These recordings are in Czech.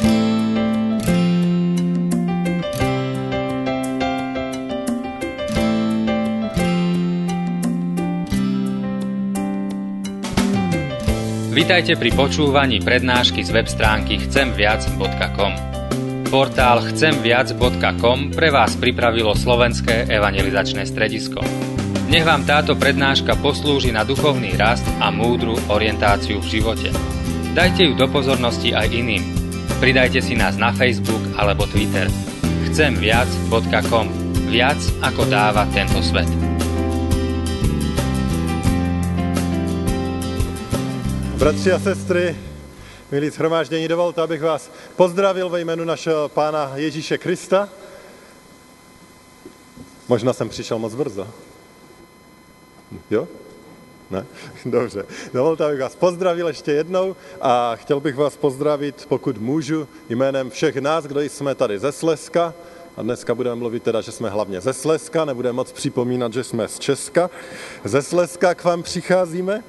Vitajte pri počúvaní prednášky z web stránky chcemviac.com. Portál chcemviac.com pre vás pripravilo Slovenské evangelizačné stredisko. Nech vám táto prednáška poslúži na duchovný rast a múdru orientáciu v živote. Dajte ju do pozornosti aj iným. Pridajte si nás na Facebook alebo Twitter. chcemviac.com. Viac ako dáva tento svet. Bratři a sestry, milí shromáždění, dovolte, abych vás pozdravil ve jménu našeho Pána Ježíše Krista. Možná jsem přišel moc brzo. Jo? Ne? Dobře. Dovolte, abych vás pozdravil ještě jednou a chtěl bych vás pozdravit, pokud můžu, jménem všech nás, kdo jsme tady ze Slezska. A dneska budeme mluvit teda, že jsme hlavně ze Slezska, nebudeme moc připomínat, že jsme z Česka. Ze Slezska k vám přicházíme.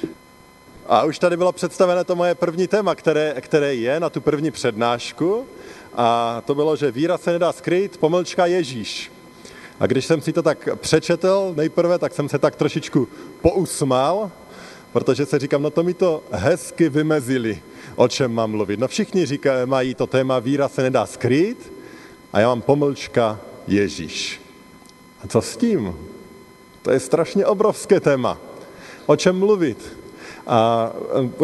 A už tady bylo představené to moje první téma, které je na tu první přednášku. A to bylo, že víra se nedá skrýt, _ Ježíš. A když jsem si to tak přečetl nejprve, tak jsem se tak trošičku pousmál, protože se říkám, no to mi to hezky vymezili, o čem mám mluvit. No všichni mají to téma víra se nedá skrýt a já mám _ Ježíš. A co s tím? To je strašně obrovské téma. O čem mluvit? A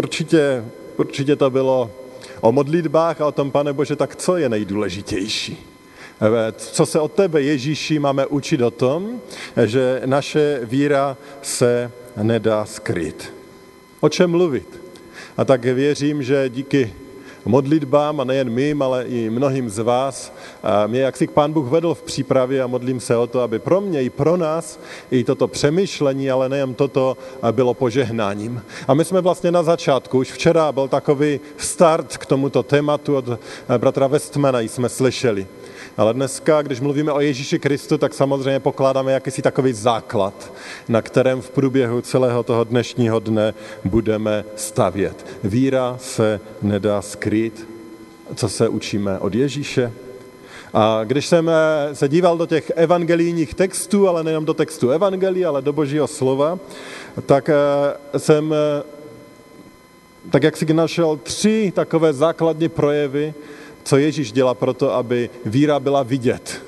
určitě to bylo o modlitbách a o tom, Pane Bože, tak co je nejdůležitější? Co se od tebe, Ježíši, máme učit o tom, že naše víra se nedá skrýt? O čem mluvit? A tak věřím, že díky modlitbám, a nejen mým, ale i mnohým z vás, mě jaksi Pán Bůh vedl v přípravě a modlím se o to, aby pro mě i pro nás i toto přemýšlení, ale nejen toto, bylo požehnáním. A my jsme vlastně na začátku, už včera byl takový start k tomuto tématu od bratra Westmana, jsme slyšeli. Ale dneska, když mluvíme o Ježíši Kristu, tak samozřejmě pokládáme jakýsi takový základ, na kterém v průběhu celého toho dnešního dne budeme stavět. Víra se nedá skrýt. Co se učíme od Ježíše? A když jsem se díval do těch evangelijních textů, ale nejenom do textu evangelii, ale do Božího slova, tak jsem tak jak si našel 3 takové základní projevy, co Ježíš dělá proto, aby víra byla vidět.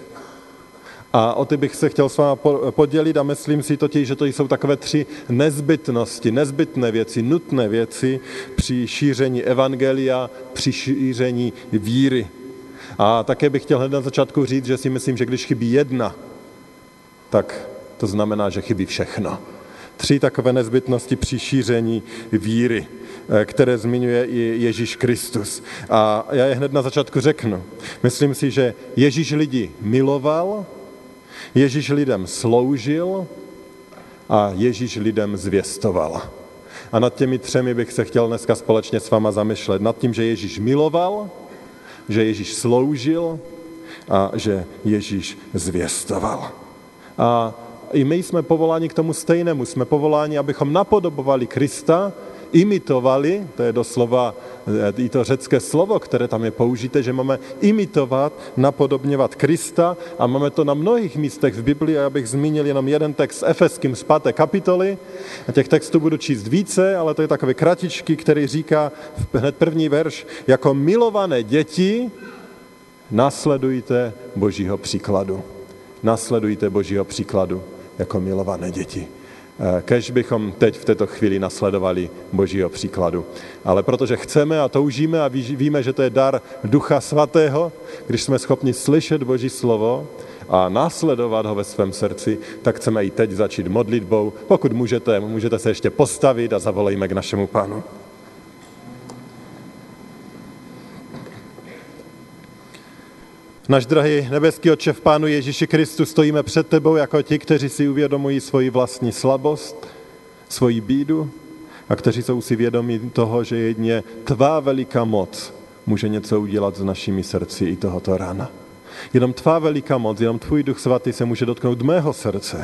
A o ty bych se chtěl s vámi podělit a myslím si totiž, že to jsou takové 3 nezbytnosti, nezbytné věci, nutné věci při šíření evangelia, při šíření víry. A také bych chtěl hned na začátku říct, že si myslím, že když chybí jedna, tak to znamená, že chybí všechno. 3 takové nezbytnosti při šíření víry, které zmiňuje i Ježíš Kristus. A já je hned na začátku řeknu. Myslím si, že Ježíš lidi miloval, Ježíš lidem sloužil a Ježíš lidem zvěstoval. A nad těmi 3 bych se chtěl dneska společně s váma zamýšlet. Nad tím, že Ježíš miloval, že Ježíš sloužil a že Ježíš zvěstoval. A i my jsme povoláni k tomu stejnému. Jsme povoláni, abychom napodobovali Krista, imitovali, to je doslova i to řecké slovo, které tam je použité, že máme imitovat, napodobňovat Krista a máme to na mnohých místech v Biblii a já bych zmínil jenom jeden text s Efeským z 5. kapitoly. A těch textů budu číst více, ale to je takový kratičký, který říká hned první verš, jako milované děti následujte Božího příkladu. Následujte Božího příkladu jako milované děti. Kéž bychom teď v této chvíli nasledovali Božího příkladu. Ale protože chceme a toužíme a víme, že to je dar Ducha Svatého, když jsme schopni slyšet Boží slovo a následovat ho ve svém srdci, tak chceme i teď začít modlitbou. Pokud můžete se ještě postavit a zavolejme k našemu Pánu. Náš drahý nebeský Otče, v Pánu Ježíši Kristu stojíme před tebou jako ti, kteří si uvědomují svoji vlastní slabost, svoji bídu a kteří jsou si vědomí toho, že jedině tvá veliká moc může něco udělat s našimi srdci i tohoto rána. Jenom tvá veliká moc, jenom tvůj Duch Svatý se může dotknout mého srdce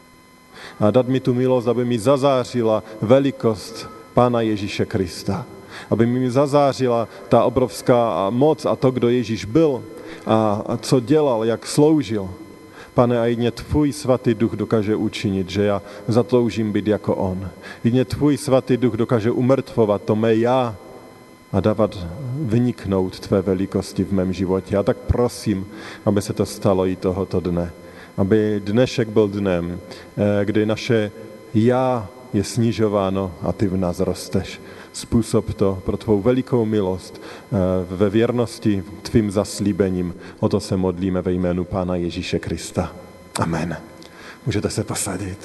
a dát mi tu milost, aby mi zazářila velikost Pána Ježíše Krista. Aby mi zazářila ta obrovská moc a to, kdo Ježíš byl a co dělal, jak sloužil. Pane, a jedně tvůj svatý duch dokáže učinit, že já zatoužím být jako on. Jedně tvůj svatý duch dokáže umrtvovat to mé já a dávat vyniknout tvé velikosti v mém životě. Já tak prosím, aby se to stalo i tohoto dne. Aby dnešek byl dnem, kdy naše já je snižováno a ty v nás rosteš. Způsob to pro tvou velikou milost ve věrnosti tvým zaslíbením. O to se modlíme ve jménu Pána Ježíše Krista. Amen. Můžete se posadit.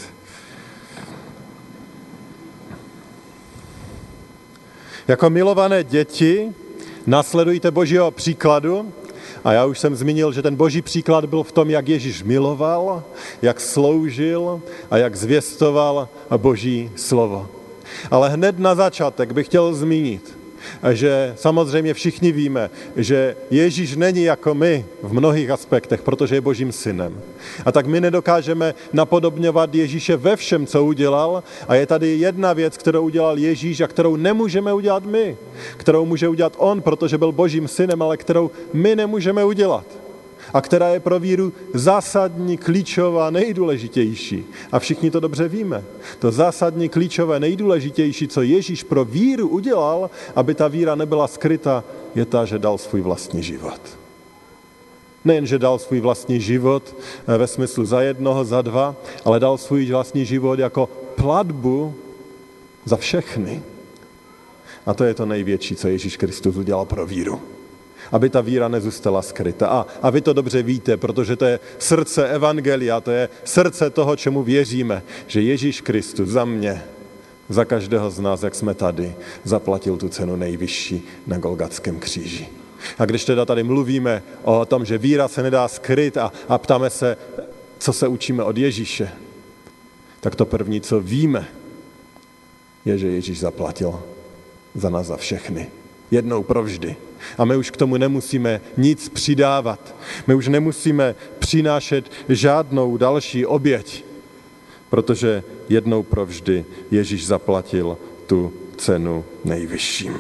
Jako milované děti následujte Božího příkladu. A já už jsem zmínil, že ten Boží příklad byl v tom, jak Ježíš miloval, jak sloužil a jak zvěstoval Boží slovo. Ale hned na začátek bych chtěl zmínit, že samozřejmě všichni víme, že Ježíš není jako my v mnohých aspektech, protože je Božím synem. A tak my nedokážeme napodobňovat Ježíše ve všem, co udělal. A je tady jedna věc, kterou udělal Ježíš a kterou nemůžeme udělat my. Kterou může udělat on, protože byl Božím synem, ale kterou my nemůžeme udělat. A která je pro víru zásadní, klíčová, nejdůležitější. A všichni to dobře víme. To zásadní, klíčové, nejdůležitější, co Ježíš pro víru udělal, aby ta víra nebyla skryta, je ta, že dal svůj vlastní život. Nejen, že dal svůj vlastní život ve smyslu za jednoho, za dva, ale dal svůj vlastní život jako platbu za všechny. A to je to největší, co Ježíš Kristus udělal pro víru. Aby ta víra nezůstala skryta. A vy to dobře víte, protože to je srdce evangelia, to je srdce toho, čemu věříme, že Ježíš Kristus za mě, za každého z nás, jak jsme tady, zaplatil tu cenu nejvyšší na Golgatském kříži. A když teda tady mluvíme o tom, že víra se nedá skryt a ptáme se, co se učíme od Ježíše, tak to první, co víme, je, že Ježíš zaplatil za nás za všechny. Jednou provždy. A my už k tomu nemusíme nic přidávat. My už nemusíme přinášet žádnou další oběť, protože jednou provždy Ježíš zaplatil tu cenu nejvyšším.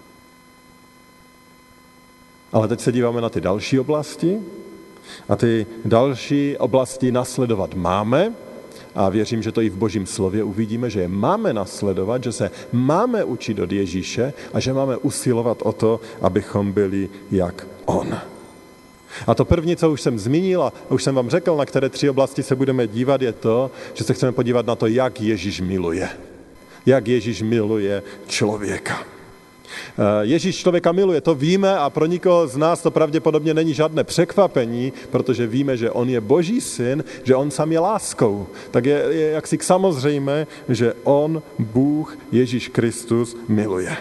Ale teď se díváme na ty další oblasti a ty další oblasti nasledovat máme a věřím, že to i v Božím slově uvidíme, že je máme nasledovat, že se máme učit od Ježíše a že máme usilovat o to, abychom byli jak on. A to první, co už jsem zmínil a už jsem vám řekl, na které 3 oblasti se budeme dívat, je to, že se chceme podívat na to, jak Ježíš miluje. Jak Ježíš miluje člověka. Ježíš člověka miluje, to víme a pro nikoho z nás to pravděpodobně není žádné překvapení, protože víme, že on je Boží syn, že on sám je láskou. Tak je jaksi samozřejmé, že on, Bůh, Ježíš Kristus, miluje.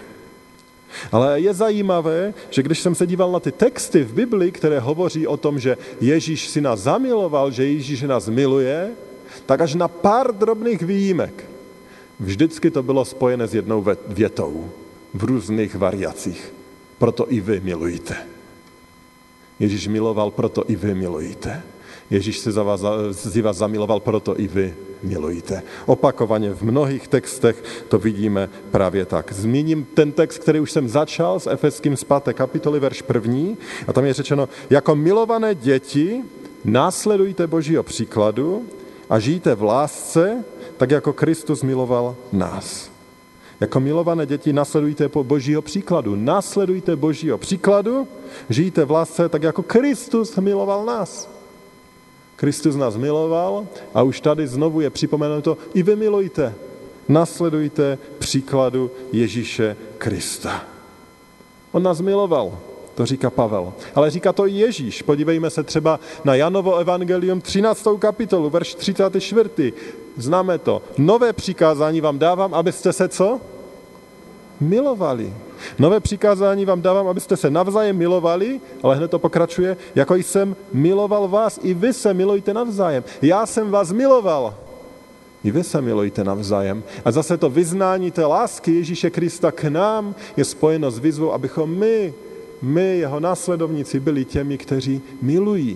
Ale je zajímavé, že když jsem se díval na ty texty v Biblii, které hovoří o tom, že Ježíš si nás zamiloval, že Ježíš nás miluje, tak až na pár drobných výjimek. Vždycky to bylo spojené s jednou větou. V různých variacích. Proto i vy milujte. Ježíš miloval, proto i vy milujte. Ježíš si vás zamiloval, proto i vy milujte. Opakovaně v mnohých textech to vidíme právě tak. Zmíním ten text, který už jsem začal s Efeským z 5. kapitoly, verš 1. A tam je řečeno, jako milované děti následujte Božího příkladu a žijte v lásce, tak jako Kristus miloval nás. Jako milované děti následujte po Božího příkladu. Následujte Božího příkladu, žijte v lásce tak, jako Kristus miloval nás. Kristus nás miloval a už tady znovu je připomenuto, i vy milujte. Následujte příkladu Ježíše Krista. On nás miloval, to říká Pavel. Ale říká to i Ježíš. Podívejme se třeba na Janovo evangelium 13. kapitolu, verš 34. Známe to. Nové přikázání vám dávám, abyste se co? Milovali. Nové přikázání vám dávám, abyste se navzájem milovali, ale hned to pokračuje, jako jsem miloval vás, i vy se milujte navzájem. Já jsem vás miloval. I vy se milujte navzájem. A zase to vyznání té lásky Ježíše Krista k nám je spojeno s výzvou, abychom my, jeho následovníci, byli těmi, kteří milují.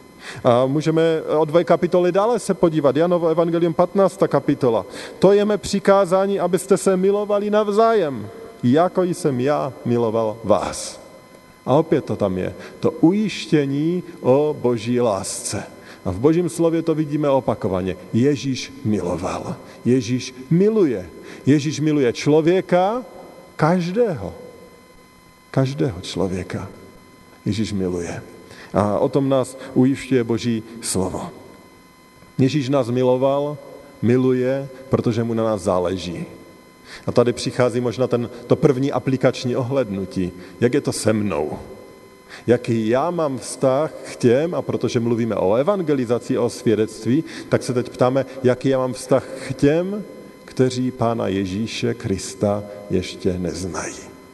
A můžeme o 2 kapitoly dále se podívat. Janovo evangelium 15. kapitola. To je mé přikázání, abyste se milovali navzájem. jako jsem já miloval vás. A opět to tam je. To ujištění o boží lásce. A v božím slově to vidíme opakovaně. Ježíš miloval. Ježíš miluje. Ježíš miluje člověka, každého. Každého člověka. Ježíš miluje. A o tom nás ujišťuje boží slovo. Ježíš nás miloval, miluje, protože mu na nás záleží. A tady přichází možná to první aplikační ohlédnutí. Jak je to se mnou? Jaký já mám vztah k těm, a protože mluvíme o evangelizaci, o svědectví, tak se teď ptáme, jaký já mám vztah k těm, kteří Pána Ježíše Krista ještě neznají.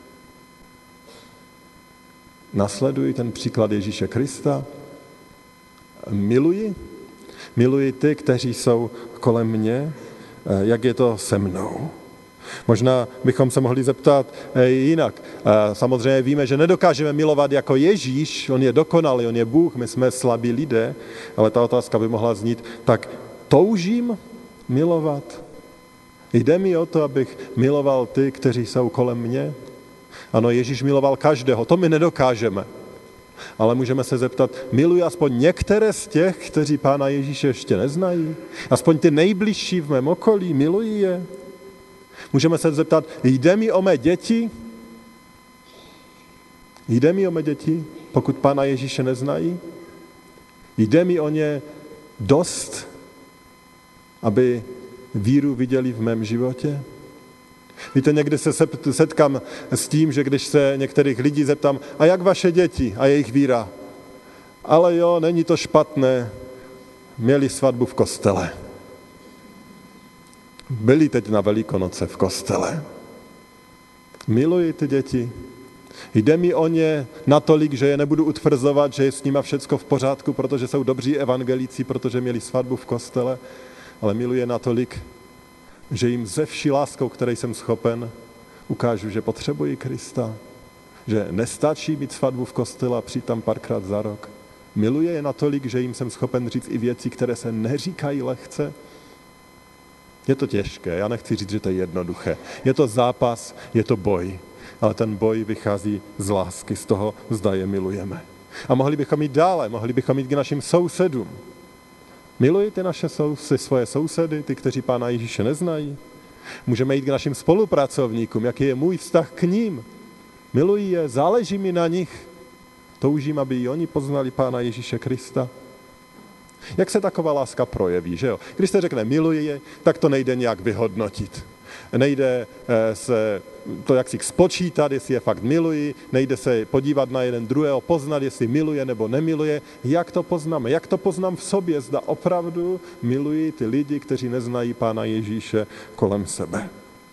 Nasleduji ten příklad Ježíše Krista, miluji ty, kteří jsou kolem mě, jak je to se mnou. Možná bychom se mohli zeptat jinak. Samozřejmě víme, že nedokážeme milovat jako Ježíš, on je dokonalý, on je Bůh, my jsme slabí lidé, ale ta otázka by mohla znít, tak toužím milovat? Jde mi o to, abych miloval ty, kteří jsou kolem mě? Ano, Ježíš miloval každého, to my nedokážeme. Ale můžeme se zeptat, miluji aspoň některé z těch, kteří Pána Ježíše ještě neznají? Aspoň ty nejbližší v mém okolí, miluji je? Můžeme se zeptat, jde mi o mé děti? Jde mi o mé děti, pokud Pána Ježíše neznají? Jde mi o ně dost, aby víru viděli v mém životě? Víte, někdy se setkám s tím, že když se některých lidí zeptám, a jak vaše děti a jejich víra? Ale jo, není to špatné, měli svatbu v kostele. Byli teď na Velikonoce v kostele. Miluji ty děti. Jde mi o ně natolik, že je nebudu utvrzovat, že je s nima všecko v pořádku, protože jsou dobří evangelíci, protože měli svatbu v kostele, ale miluji je natolik, že jim ze vší láskou, které jsem schopen, ukážu, že potřebují Krista, že nestačí mít svatbu v kostele a přijít tam párkrát za rok. Miluji je natolik, že jim jsem schopen říct i věci, které se neříkají lehce. Je to těžké, já nechci říct, že to je jednoduché. Je to zápas, je to boj, ale ten boj vychází z lásky, z toho, zda je milujeme. A mohli bychom jít dále, mohli bychom jít k našim sousedům. Milují ty svoje sousedy, ty, kteří Pána Ježíše neznají? Můžeme jít k našim spolupracovníkům, jaký je můj vztah k ním? Miluji je, záleží mi na nich, toužím, aby i oni poznali Pána Ježíše Krista. Jak se taková láska projeví, že jo? Když se řekne miluji je, tak to nejde nějak vyhodnotit. Nejde se to jaksi spočítat, jestli je fakt miluji, nejde se podívat na jeden druhého, poznat, jestli miluje nebo nemiluje. Jak to poznáme? Jak to poznám v sobě? Zda opravdu miluji ty lidi, kteří neznají Pána Ježíše kolem sebe.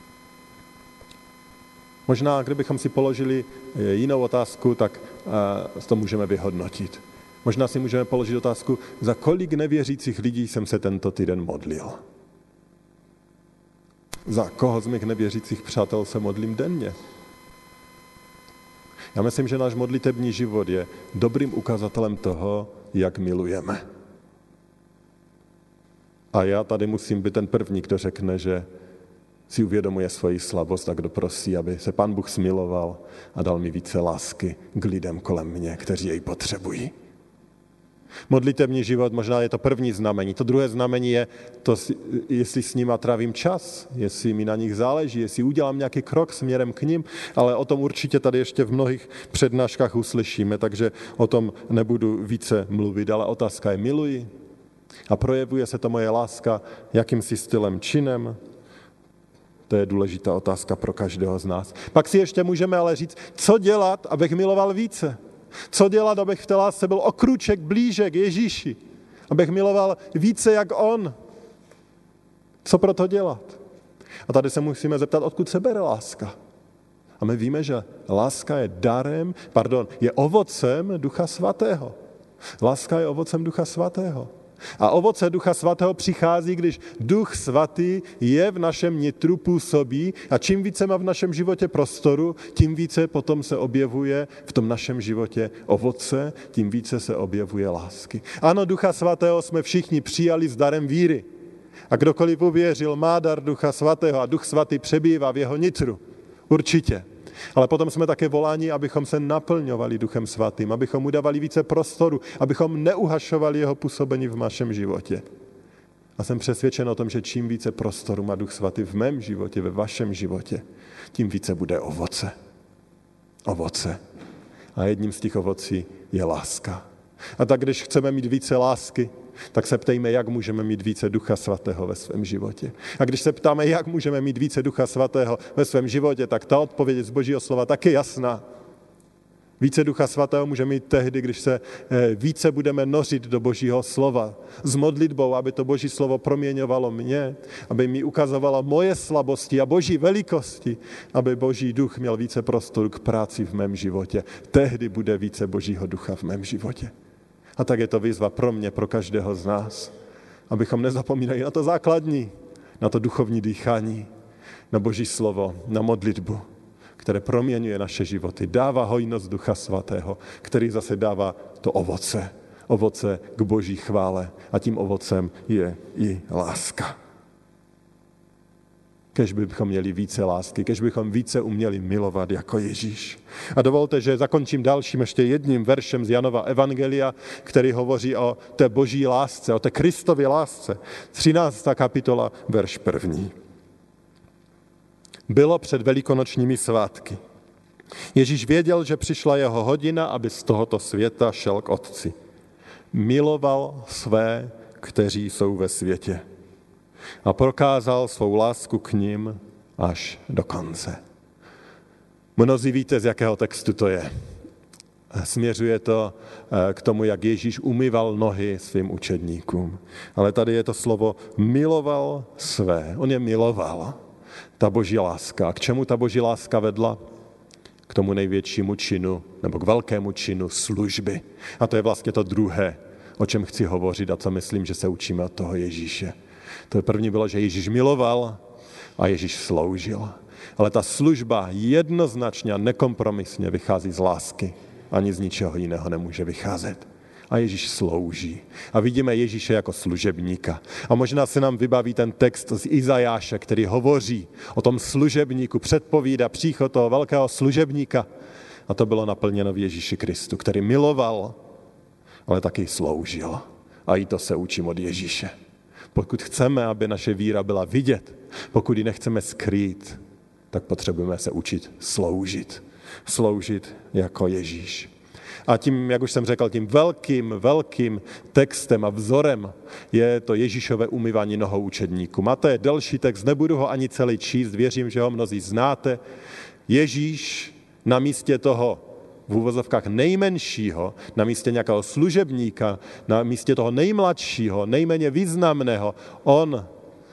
Možná, kdybychom si položili jinou otázku, tak to můžeme vyhodnotit. Možná si můžeme položit otázku, za kolik nevěřících lidí jsem se tento týden modlil. Za koho z mých nevěřících přátel se modlím denně? Já myslím, že náš modlitební život je dobrým ukazatelem toho, jak milujeme. A já tady musím být ten první, kdo řekne, že si uvědomuje svoji slabost a kdo prosí, aby se Pán Bůh smiloval a dal mi více lásky k lidem kolem mě, kteří jej potřebují. Modlitební život, možná je to první znamení. To druhé znamení je to, jestli s nima trávím čas, jestli mi na nich záleží, jestli udělám nějaký krok směrem k nim, ale o tom určitě tady ještě v mnohých přednáškách uslyšíme, takže o tom nebudu více mluvit, ale otázka je miluji a projevuje se to moje láska jakýmsi stylem, činem. To je důležitá otázka pro každého z nás. Pak si ještě můžeme ale říct, co dělat, abych miloval více. Co dělat, abych v té lásce byl o krůček blíže k Ježíši? Abych miloval více jak on? Co pro to dělat? A tady se musíme zeptat, odkud se bere láska. A my víme, že láska je je ovocem Ducha Svatého. Láska je ovocem Ducha Svatého. A ovoce Ducha Svatého přichází, když Duch Svatý je v našem nitru, působí a čím více má v našem životě prostoru, tím více potom se objevuje v tom našem životě ovoce, tím více se objevuje lásky. Ano, Ducha Svatého jsme všichni přijali s darem víry. A kdokoliv uvěřil, má dar Ducha Svatého a Duch Svatý přebývá v jeho nitru. Určitě. Ale potom jsme také voláni, abychom se naplňovali Duchem Svatým, abychom mu dávali více prostoru, abychom neuhašovali jeho působení v našem životě. A jsem přesvědčen o tom, že čím více prostoru má Duch Svatý v mém životě, ve vašem životě, tím více bude ovoce. Ovoce. A jedním z těch ovocí je láska. A tak když chceme mít více lásky, tak se ptejme, jak můžeme mít více Ducha Svatého ve svém životě. A když se ptáme, jak můžeme mít více Ducha Svatého ve svém životě, tak ta odpověď z Božího slova taky jasná. Více Ducha Svatého můžeme mít tehdy, když se více budeme nořit do Božího slova s modlitbou, aby to Boží slovo proměňovalo mě, aby mi ukazovalo moje slabosti a Boží velikosti, aby Boží duch měl více prostoru k práci v mém životě. Tehdy bude více Božího ducha v mém životě. A tak je to výzva pro mě, pro každého z nás, abychom nezapomínali na to základní, na to duchovní dýchání, na Boží slovo, na modlitbu, které proměňuje naše životy, dává hojnost Ducha Svatého, který zase dává to ovoce k Boží chvále a tím ovocem je i láska. Kež bychom měli více lásky, kež bychom více uměli milovat jako Ježíš. A dovolte, že zakončím dalším ještě jedním veršem z Janova evangelia, který hovoří o té Boží lásce, o té Kristově lásce. 13. kapitola, verš 1. Bylo před velikonočními svátky. Ježíš věděl, že přišla jeho hodina, aby z tohoto světa šel k Otci. Miloval své, kteří jsou ve světě. A prokázal svou lásku k nim až do konce. Mnozí víte, z jakého textu to je. Směřuje to k tomu, jak Ježíš umyval nohy svým učedníkům. Ale tady je to slovo miloval své. On je miloval. Ta Boží láska. A k čemu ta Boží láska vedla? K tomu největšímu činu, nebo k velkému činu služby. A to je vlastně to druhé, o čem chci hovořit a co myslím, že se učíme od toho Ježíše. To první bylo, že Ježíš miloval a Ježíš sloužil. Ale ta služba jednoznačně a nekompromisně vychází z lásky. Ani z ničeho jiného nemůže vycházet. A Ježíš slouží. A vidíme Ježíše jako služebníka. A možná se nám vybaví ten text z Izajáše, který hovoří o tom služebníku, předpovídá příchod toho velkého služebníka. A to bylo naplněno v Ježíši Kristu, který miloval, ale taky sloužil. A i to se učím od Ježíše. Pokud chceme, aby naše víra byla vidět, pokud ji nechceme skrýt, tak potřebujeme se učit sloužit. Sloužit jako Ježíš. A tím, jak už jsem řekl, tím velkým textem a vzorem je to Ježíšové umyvání nohou učedníkům. A to je delší text, nebudu ho ani celý číst, věřím, že ho mnozí znáte. Ježíš na místě toho v úvozovkách nejmenšího, na místě nějakého služebníka, na místě toho nejmladšího, nejméně významného, on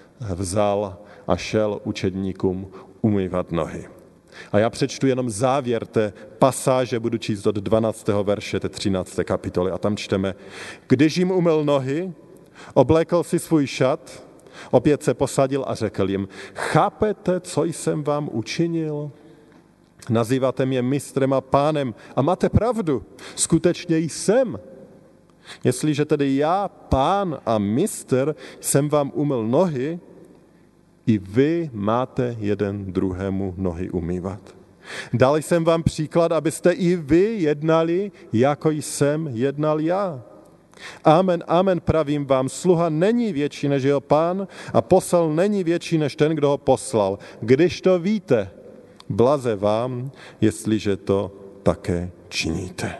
vzal a šel učedníkům umývat nohy. A já přečtu jenom závěr té pasáže, budu číst od 12. verše té 13. kapitoly a tam čteme: Když jim umyl nohy, oblékl si svůj šat, opět se posadil a řekl jim: Chápete, co jsem vám učinil? Nazýváte mě mistrem a pánem a máte pravdu, skutečně jsem. Jestliže tedy já, pán a mistr, jsem vám umyl nohy, i vy máte jeden druhému nohy umývat. Dal jsem vám příklad, abyste i vy jednali, jako jsem jednal já. Amen, amen, pravím vám, sluha není větší než jeho pán a posel není větší než ten, kdo ho poslal. Když to víte, blaze vám, jestliže to také činíte.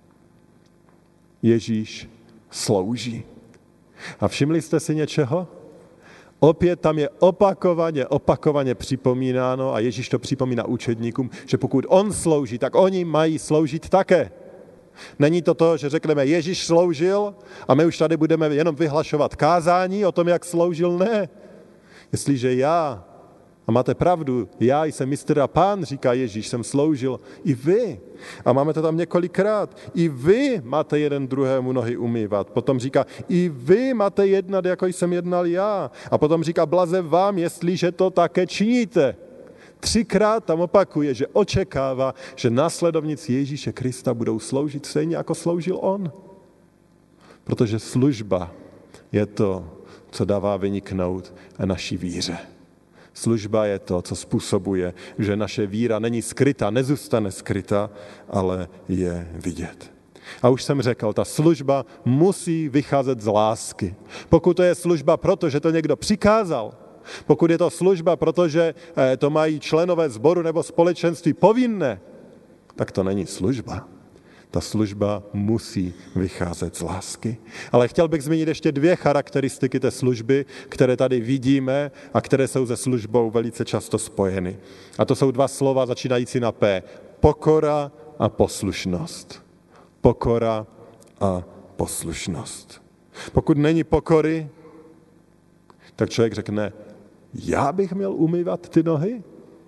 Ježíš slouží. A všimli jste si něčeho? Opět tam je opakovaně připomínáno a Ježíš to připomíná učedníkům, že pokud on slouží, tak oni mají sloužit také. Není to to, že řekneme Ježíš sloužil a my už tady budeme jenom vyhlašovat kázání o tom, jak sloužil. Ne. Jestliže já, a máte pravdu, já jsem mistr a pán, říká Ježíš, jsem sloužil, i vy. A máme to tam několikrát. I vy máte jeden druhému nohy umývat. Potom říká, i vy máte jednat, jako jsem jednal já. A potom říká, blaze vám, jestliže to také činíte. 3krát tam opakuje, že očekává, že následovníci Ježíše Krista budou sloužit stejně, jako sloužil on. Protože služba je to, co dává vyniknout naší víře. Služba je to, co způsobuje, že naše víra není skrytá, nezůstane skrytá, ale je vidět. A už jsem řekl, ta služba musí vycházet z lásky. Pokud to je služba proto, že to někdo přikázal, pokud je to služba, protože to mají členové sboru nebo společenství povinné, tak to není služba. Ta služba musí vycházet z lásky. Ale chtěl bych zmínit ještě 2 charakteristiky té služby, které tady vidíme a které jsou se službou velice často spojeny. A to jsou 2 slova začínající na P. Pokora a poslušnost. Pokora a poslušnost. Pokud není pokory, tak člověk řekne, já bych měl umývat ty nohy?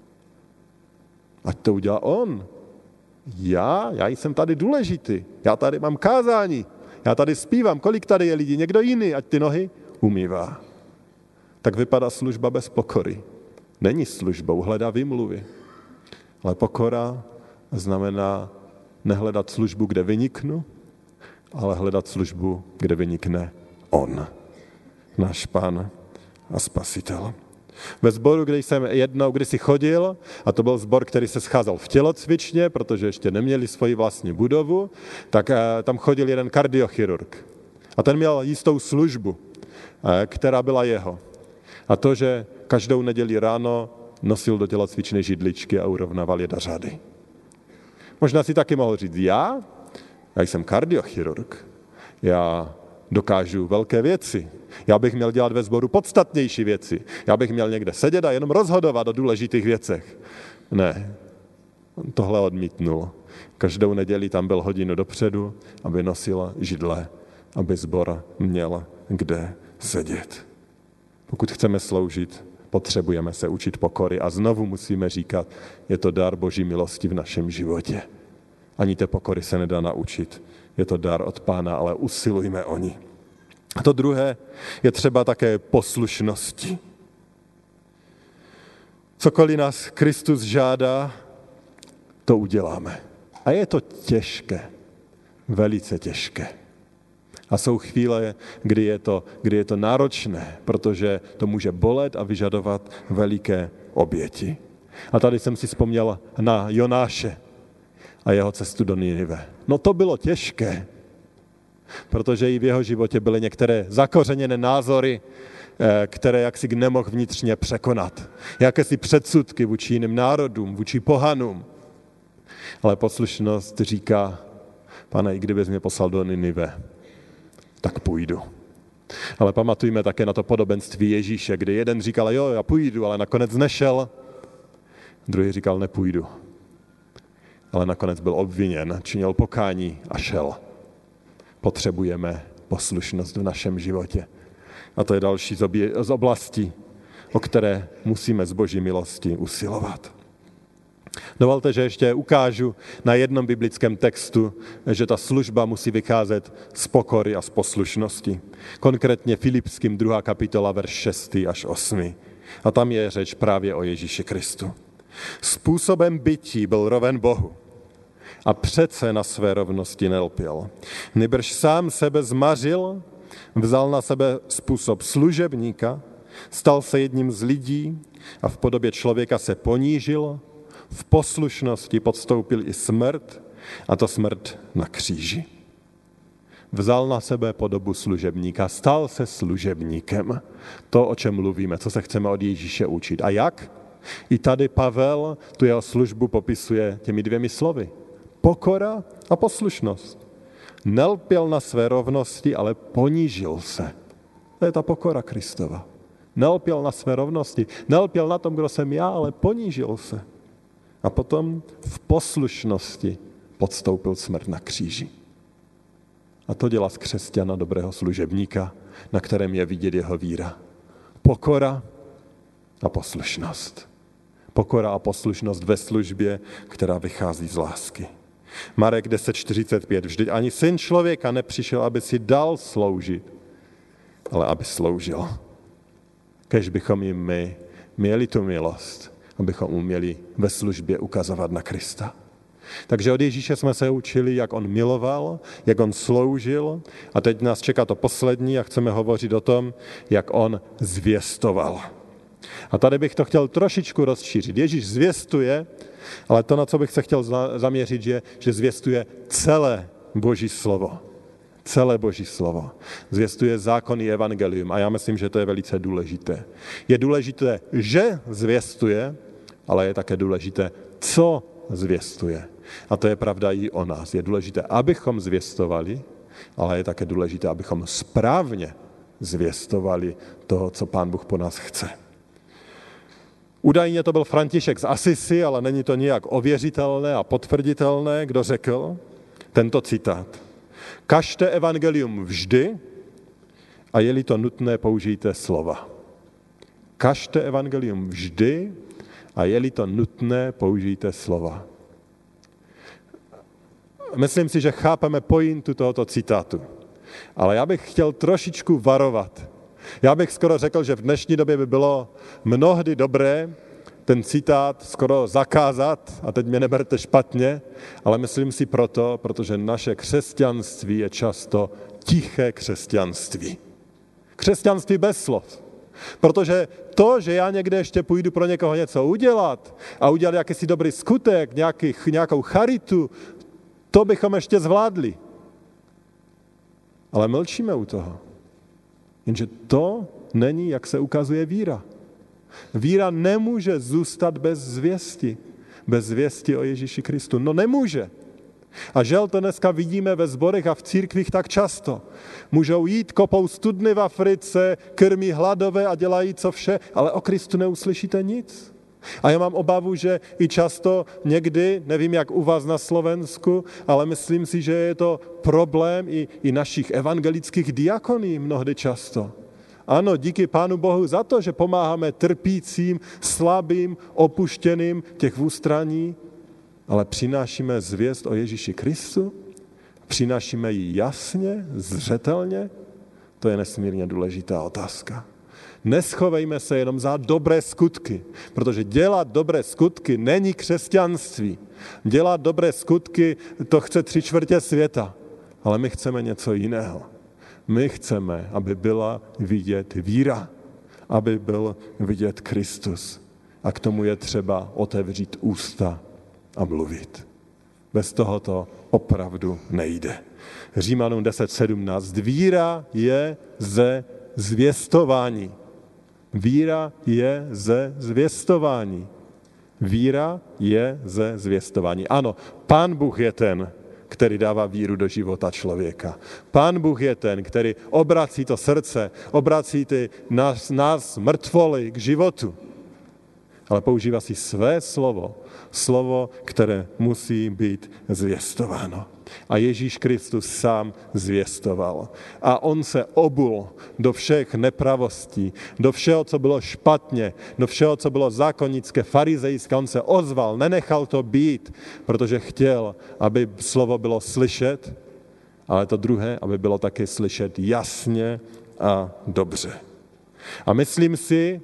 Ať to udělá on. Já jsem tady důležitý, já tady mám kázání, já tady zpívám, kolik tady je lidí, někdo jiný, ať ty nohy umývá. Tak vypadá služba bez pokory. Není službou, hledá výmluvy. Ale pokora znamená nehledat službu, kde vyniknu, ale hledat službu, kde vynikne on, náš Pán a Spasitel. Ve sboru, kde jsem jednou kdysi chodil, a to byl sbor, který se scházel v tělocvičně, protože ještě neměli svoji vlastní budovu, tak tam chodil jeden kardiochirurg. A ten měl jistou službu, která byla jeho. A to, že každou neděli ráno nosil do tělocvičné židličky a urovnával je do řady. Možná si taky mohl říct, já jsem kardiochirurg, já dokážu velké věci. Já bych měl dělat ve sboru podstatnější věci. Já bych měl někde sedět a jenom rozhodovat o důležitých věcech. Ne, on tohle odmítnul. Každou neděli tam byl hodinu dopředu, aby nosil židle, aby sbor měl kde sedět. Pokud chceme sloužit, potřebujeme se učit pokory a znovu musíme říkat, je to dar Boží milosti v našem životě. Ani té pokory se nedá naučit. Je to dar od Pána, ale usilujme o ní. A to druhé je třeba také poslušnosti. Cokoliv nás Kristus žádá, to uděláme. A je to těžké, velice těžké. A jsou chvíle, kdy je to náročné, protože to může bolet a vyžadovat veliké oběti. A tady jsem si vzpomněl na Jonáše a jeho cestu do Ninive. No to bylo těžké, protože i v jeho životě byly některé zakořeněné názory, které jaksi nemohl vnitřně překonat. Jakési předsudky vůči jiným národům, vůči pohanům. Ale poslušnost říká, Pane, i kdybys mě poslal do Ninive, tak půjdu. Ale pamatujme také na to podobenství Ježíše, kdy jeden říkal, jo, já půjdu, ale nakonec nešel. Druhý říkal, nepůjdu. Ale nakonec byl obviněn, činil pokání a šel. Potřebujeme poslušnost v našem životě. A to je další z oblastí, o které musíme z Boží milosti usilovat. Dovolte, že ještě ukážu na jednom biblickém textu, že ta služba musí vycházet z pokory a z poslušnosti. Konkrétně Filipským 2. kapitola, verš 6. až 8. A tam je řeč právě o Ježíši Kristu. Způsobem bytí byl roven Bohu a přece na své rovnosti nelpěl. Nýbrž sám sebe zmařil, vzal na sebe způsob služebníka, stal se jedním z lidí a v podobě člověka se ponížil, v poslušnosti podstoupil i smrt, a to smrt na kříži. Vzal na sebe podobu služebníka, stal se služebníkem. To, o čem mluvíme, co se chceme od Ježíše učit. A jak? I tady Pavel tu jeho službu popisuje těmi 2 slovy. Pokora a poslušnost. Nelpěl na své rovnosti, ale ponížil se. To je ta pokora Kristova. Nelpěl na své rovnosti, nelpěl na tom, kdo jsem já, ale ponížil se. A potom v poslušnosti podstoupil smrt na kříži. A to dělá z křesťana dobrého služebníka, na kterém je vidět jeho víra. Pokora a poslušnost. Pokora a poslušnost ve službě, která vychází z lásky. Marek 10:45. Vždyť ani syn člověka nepřišel, aby si dal sloužit, ale aby sloužil. Kéž bychom jim my měli tu milost, abychom uměli ve službě ukazovat na Krista. Takže od Ježíše jsme se učili, jak on miloval, jak on sloužil a teď nás čeká to poslední a chceme hovořit o tom, jak on zvěstoval. A tady bych to chtěl trošičku rozšířit. Ježíš zvěstuje, ale to, na co bych se chtěl zaměřit, je, že zvěstuje celé Boží slovo. Celé Boží slovo. Zvěstuje zákon i evangelium a já myslím, že to je velice důležité. Je důležité, že zvěstuje, ale je také důležité, co zvěstuje. A to je pravda i o nás. Je důležité, abychom zvěstovali, ale je také důležité, abychom správně zvěstovali toho, co Pán Bůh po nás chce. Údajně to byl František z Asisi, ale není to nijak ověřitelné a potvrditelné, kdo řekl tento citát. Kažte evangelium vždy a je-li to nutné, použijte slova. Kažte evangelium vždy a je-li to nutné, použijte slova. Myslím si, že chápeme pointu tohoto citátu, ale já bych chtěl trošičku varovat. Já bych skoro řekl, že v dnešní době by bylo mnohdy dobré ten citát skoro zakázat, a teď mě neberte špatně, ale myslím si protože naše křesťanství je často tiché křesťanství. Křesťanství bez slov. Protože to, že já někde ještě půjdu pro někoho něco udělat a udělat jakýsi dobrý skutek, nějakou charitu, to bychom ještě zvládli. Ale mlčíme u toho. Jenže to není, jak se ukazuje víra. Víra nemůže zůstat bez zvěsti o Ježíši Kristu. No nemůže. A žel to dneska vidíme ve sborech a v církvích tak často. Můžou jít, kopou studny v Africe, krmí hladové a dělají co vše, ale o Kristu neuslyšíte nic. A já mám obavu, že i často někdy, nevím jak u vás na Slovensku, ale myslím si, že je to problém i našich evangelických diakoní mnohdy často. Ano, díky Pánu Bohu za to, že pomáháme trpícím, slabým, opuštěným těch v ústraní, ale přinášíme zvěst o Ježíši Kristu, přinášíme ji jasně, zřetelně, to je nesmírně důležitá otázka. Neschovejme se jenom za dobré skutky, protože dělat dobré skutky není křesťanství. Dělat dobré skutky, to chce 3/4 světa, ale my chceme něco jiného. My chceme, aby byla vidět víra, aby byl vidět Kristus. A k tomu je třeba otevřít ústa a mluvit. Bez toho to opravdu nejde. Římanům 10:17. Víra je ze zvěstování. Víra je ze zvěstování. Víra je ze zvěstování. Ano, Pán Bůh je ten, který dává víru do života člověka. Pán Bůh je ten, který obrací to srdce, obrací nás mrtvoly k životu. Ale používá si své slovo, které musí být zvěstováno. A Ježíš Kristus sám zvěstoval. A on se obul do všech nepravostí, do všeho, co bylo špatně, do všeho, co bylo zákonnické, farizejské. On se ozval, nenechal to být, protože chtěl, aby slovo bylo slyšet, ale to druhé, aby bylo také slyšet jasně a dobře. A myslím si,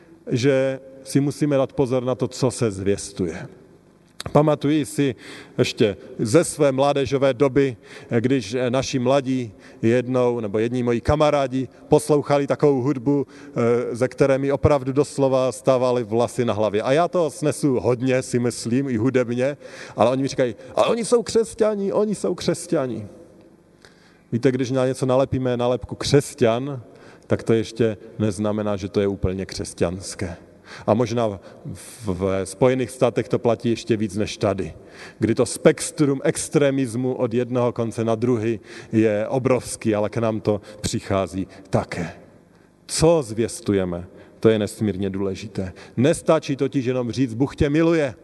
že si musíme dát pozor na to, co se zvěstuje. Pamatuji si ještě ze své mládežové doby, když naši mladí jední moji kamarádi poslouchali takovou hudbu, ze které mi opravdu doslova stávaly vlasy na hlavě. A já to snesu hodně, si myslím, i hudebně, ale oni mi říkají, ale oni jsou křesťani. Víte, když na něco nalepíme nálepku křesťan, tak to ještě neznamená, že to je úplně křesťanské. A možná v Spojených státech to platí ještě víc než tady, kdy to spektrum extremismu od jednoho konce na druhý je obrovský, ale k nám to přichází také. Co zvěstujeme, to je nesmírně důležité. Nestačí totiž jenom říct, Bůh tě miluje.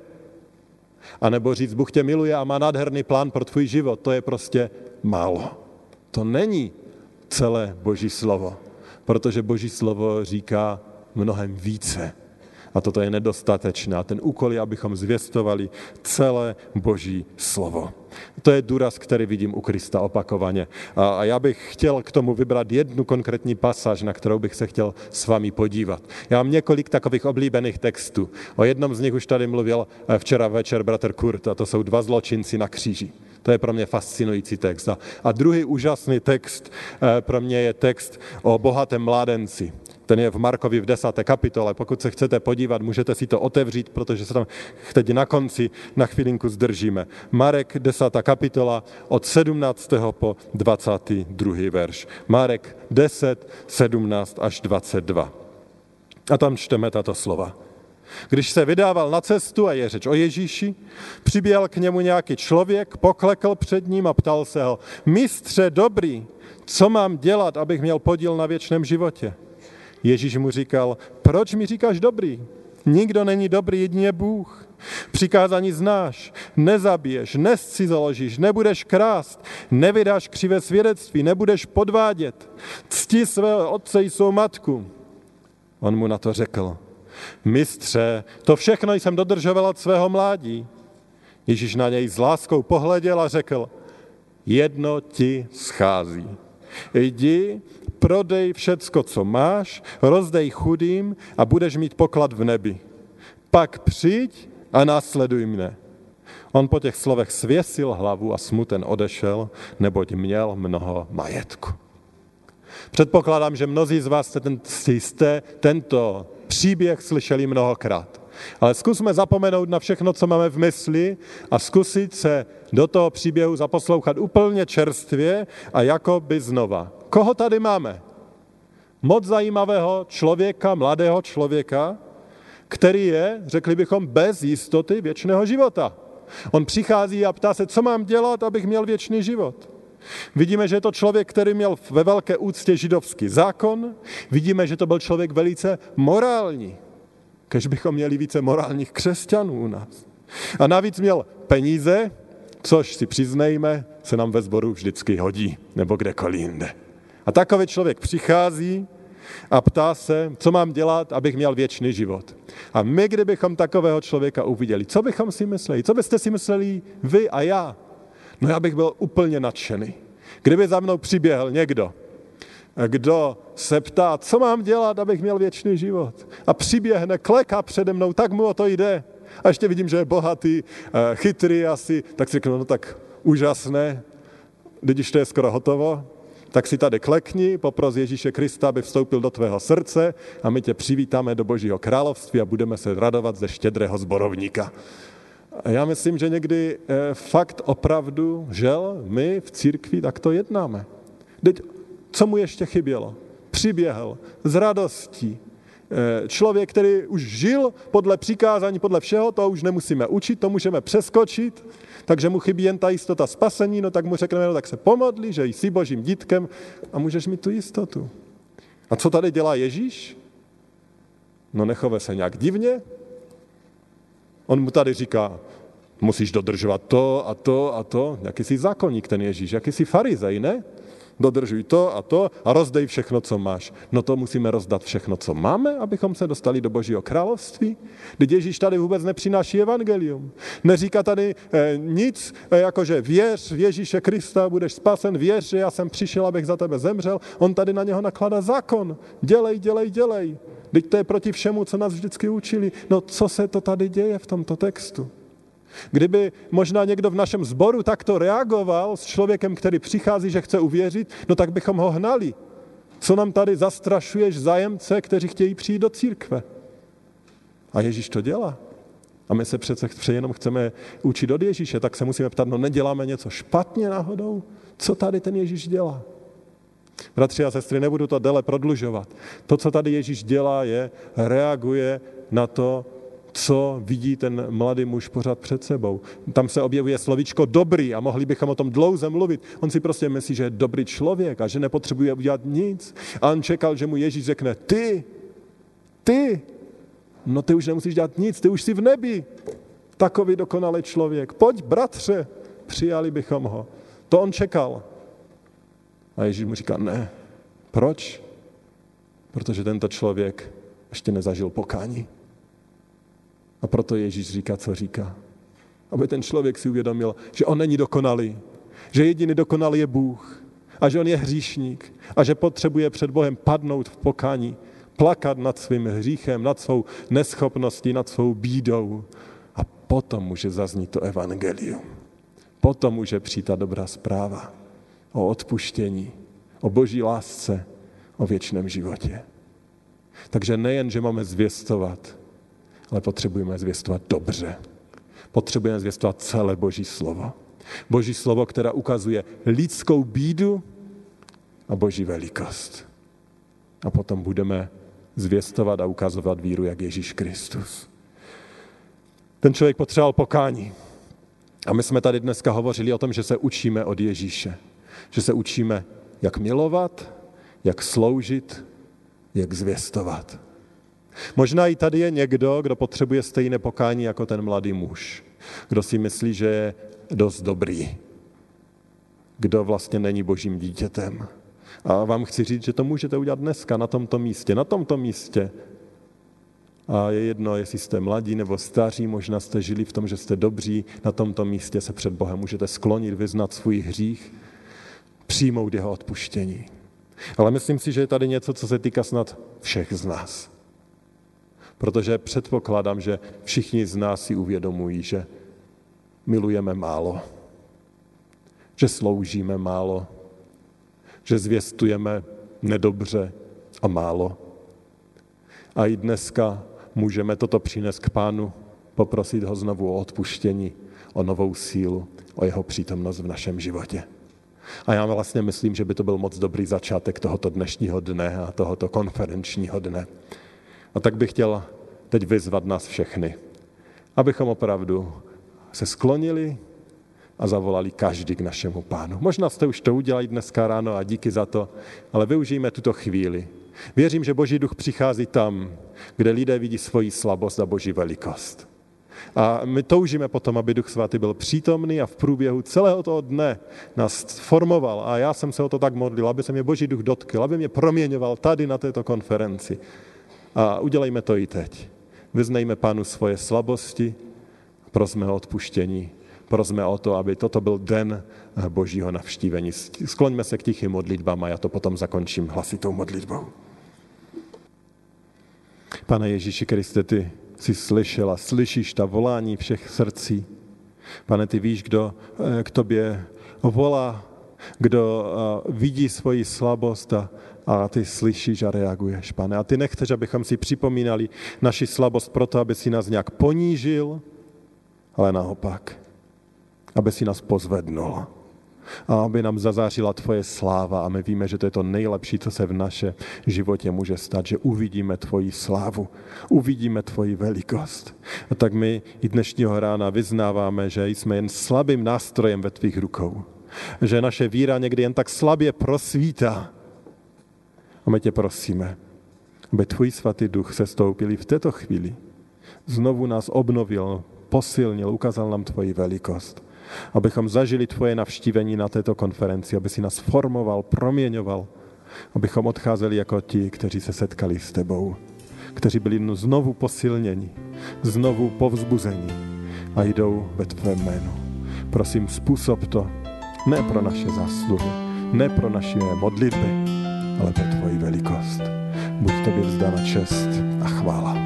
A nebo říct, Bůh tě miluje a má nádherný plán pro tvůj život. To je prostě málo. To není celé Boží slovo, protože Boží slovo říká mnohem více. A toto je nedostatečné. A ten úkol je, abychom zvěstovali celé Boží slovo. To je důraz, který vidím u Krista opakovaně. A já bych chtěl k tomu vybrat jednu konkrétní pasáž, na kterou bych se chtěl s vámi podívat. Já mám několik takových oblíbených textů. O jednom z nich už tady mluvil včera večer bratr Kurt, a to jsou 2 zločinci na kříži. To je pro mě fascinující text. A druhý úžasný text pro mě je text o bohatém mládenci. Ten je v Markovi v 10. kapitole. Pokud se chcete podívat, můžete si to otevřít, protože se tam teď na konci na chvilinku zdržíme. Marek 10. kapitola od 17. po 22. verš. Marek 10, 17 až 22. A tam čteme tato slova. Když se vydával na cestu, a je řeč o Ježíši, přiběhl k němu nějaký člověk, poklekl před ním a ptal se ho: Mistře dobrý, co mám dělat, abych měl podíl na věčném životě? Ježíš mu říkal: Proč mi říkáš dobrý? Nikdo není dobrý, jedině Bůh. Přikázání znáš: nezabiješ, nezcizoložíš, nebudeš krást, nevydáš křivé svědectví, nebudeš podvádět, cti svého otce i svou matku. On mu na to řekl: Mistře, to všechno jsem dodržoval od svého mládí. Ježíš na něj s láskou pohleděl a řekl: Jedno ti schází. Jdi, prodej všecko, co máš, rozdej chudým a budeš mít poklad v nebi. Pak přijď a následuj mne. On po těch slovech svěsil hlavu a smuten odešel, neboť měl mnoho majetku. Předpokládám, že mnozí z vás jste tento příběh slyšeli mnohokrát. Ale zkusme zapomenout na všechno, co máme v mysli a zkusit se do toho příběhu zaposlouchat úplně čerstvě a jakoby znova. Koho tady máme? Moc zajímavého člověka, mladého člověka, který je, řekli bychom, bez jistoty věčného života. On přichází a ptá se, co mám dělat, abych měl věčný život. Vidíme, že je to člověk, který měl ve velké úctě židovský zákon. Vidíme, že to byl člověk velice morální. Kež bychom měli více morálních křesťanů u nás. A navíc měl peníze, což si přiznejme, se nám ve sboru vždycky hodí, nebo kdekoliv jinde. A takový člověk přichází a ptá se, co mám dělat, abych měl věčný život. A my, kdybychom takového člověka uviděli, co bychom si mysleli? Co byste si mysleli vy a já? No já bych byl úplně nadšený. Kdyby za mnou přiběhl někdo, kdo se ptá, co mám dělat, abych měl věčný život. A přiběhne, kleká přede mnou, tak mu o to jde. A ještě vidím, že je bohatý, chytrý asi, tak si řeknu, no tak úžasné, když to je skoro hotovo, tak si tady klekni, popros Ježíše Krista, aby vstoupil do tvého srdce a my tě přivítáme do Božího království a budeme se radovat ze štědrého zborovníka. A já myslím, že někdy fakt opravdu, žel, my v církvi takto jednáme. Teď, co mu ještě chybělo? Přiběhl z radostí. Člověk, který už žil podle přikázání, podle všeho, to už nemusíme učit, to můžeme přeskočit, takže mu chybí jen ta jistota spasení, no tak mu řekneme, no tak se pomodli, že jsi Božím dítkem a můžeš mít tu jistotu. A co tady dělá Ježíš? No nechove se nějak divně. On mu tady říká, musíš dodržovat to a to a to. Jakýsi zákonník ten Ježíš, jakýsi farizej, ne? Dodržuj to a rozdej všechno, co máš. No to musíme rozdat všechno, co máme, abychom se dostali do Božího království. Když Ježíš tady vůbec nepřináší evangelium. Neříká tady nic, jakože věř v Ježíše Krista, budeš spasen, věř, že já jsem přišel, abych za tebe zemřel. On tady na něho nakládá zákon. Dělej. Teď to je proti všemu, co nás vždycky učili. No co se to tady děje v tomto textu? Kdyby možná někdo v našem sboru takto reagoval s člověkem, který přichází, že chce uvěřit, no tak bychom ho hnali. Co nám tady zastrašuješ zájemce, kteří chtějí přijít do církve? A Ježíš to dělá. A my se přece jenom chceme učit od Ježíše, tak se musíme ptát, no neděláme něco špatně náhodou? Co tady ten Ježíš dělá? Bratři a sestry, nebudu to déle prodlužovat. To, co tady Ježíš dělá, je reaguje na to, co vidí ten mladý muž pořád před sebou. Tam se objevuje slovíčko dobrý a mohli bychom o tom dlouze mluvit. On si prostě myslí, že je dobrý člověk a že nepotřebuje udělat nic. A on čekal, že mu Ježíš řekne, ty, no ty už nemusíš dělat nic, ty už jsi v nebi. Takový dokonalý člověk. Pojď, bratře, přijali bychom ho. To on čekal. A Ježíš mu říká, ne. Proč? Protože tento člověk ještě nezažil pokání. A proto Ježíš říká, co říká. Aby ten člověk si uvědomil, že on není dokonalý, že jediný dokonalý je Bůh a že on je hříšník a že potřebuje před Bohem padnout v pokání, plakat nad svým hříchem, nad svou neschopností, nad svou bídou. A potom může zaznít to evangelium. Potom může přijít ta dobrá zpráva o odpuštění, o Boží lásce, o věčném životě. Takže nejen, že máme zvěstovat, ale potřebujeme zvěstovat dobře. Potřebujeme zvěstovat celé Boží slovo. Boží slovo, které ukazuje lidskou bídu a Boží velikost. A potom budeme zvěstovat a ukazovat víru, jak Ježíš Kristus. Ten člověk potřeboval pokání. A my jsme tady dneska hovořili o tom, že se učíme od Ježíše. Že se učíme, jak milovat, jak sloužit, jak zvěstovat. Možná i tady je někdo, kdo potřebuje stejné pokání jako ten mladý muž. Kdo si myslí, že je dost dobrý. Kdo vlastně není Božím dítětem. A vám chci říct, že to můžete udělat dneska na tomto místě. Na tomto místě. A je jedno, jestli jste mladí nebo staří, možná jste žili v tom, že jste dobří. Na tomto místě se před Bohem můžete sklonit, vyznat svůj hřích, přijmout jeho odpuštění. Ale myslím si, že je tady něco, co se týká snad všech z nás. Protože předpokládám, že všichni z nás si uvědomují, že milujeme málo, že sloužíme málo, že zvěstujeme nedobře a málo. A i dneska můžeme toto přinést k Pánu, poprosit ho znovu o odpuštění, o novou sílu, o jeho přítomnost v našem životě. A já vlastně myslím, že by to byl moc dobrý začátek tohoto dnešního dne a tohoto konferenčního dne. A tak bych chtěl teď vyzvat nás všechny, abychom opravdu se sklonili a zavolali každý k našemu Pánu. Možná jste už to udělali dneska ráno a díky za to, ale využijme tuto chvíli. Věřím, že Boží duch přichází tam, kde lidé vidí svoji slabost a Boží velikost. A my toužíme potom, aby Duch Svatý byl přítomný a v průběhu celého toho dne nás formoval. A já jsem se o to tak modlil, aby se mě Boží duch dotkl, aby mě proměňoval tady na této konferenci. A udělejme to i teď. Vyznejme Pánu svoje slabosti, prosme o odpuštění, prosme o to, aby toto byl den Božího navštívení. Skloňme se k tichým modlitbám a já to potom zakončím hlasitou modlitbou. Pane Ježíši Kriste, ty jsi slyšel a slyšíš ta volání všech srdcí. Pane, ty víš, kdo k tobě volá, kdo vidí svoji slabost a ty slyšíš a reaguješ, Pane. A ty nechceš, abychom si připomínali naši slabost proto, aby si nás nějak ponížil, ale naopak, aby si nás pozvednul a aby nám zazářila tvoje sláva. A my víme, že to je to nejlepší, co se v našem životě může stát, že uvidíme tvoji slávu, uvidíme tvoji velikost. A tak my i dnešního rána vyznáváme, že jsme jen slabým nástrojem ve tvých rukou. Že naše víra někdy jen tak slabě prosvítá. A my tě prosíme, aby tvůj svatý duch se stoupil v této chvíli. Znovu nás obnovil, posilnil, ukázal nám tvoji velikost. Abychom zažili tvoje navštívení na této konferenci, aby si nás formoval, proměňoval, abychom odcházeli jako ti, kteří se setkali s tebou, kteří byli znovu posilněni, znovu povzbuzeni a jdou ve tvém jménu. Prosím, způsob to ne pro naše zásluhy, ne pro naše modlitby, ale pro tvoji velikost. Buď tobě vzdána čest a chvála.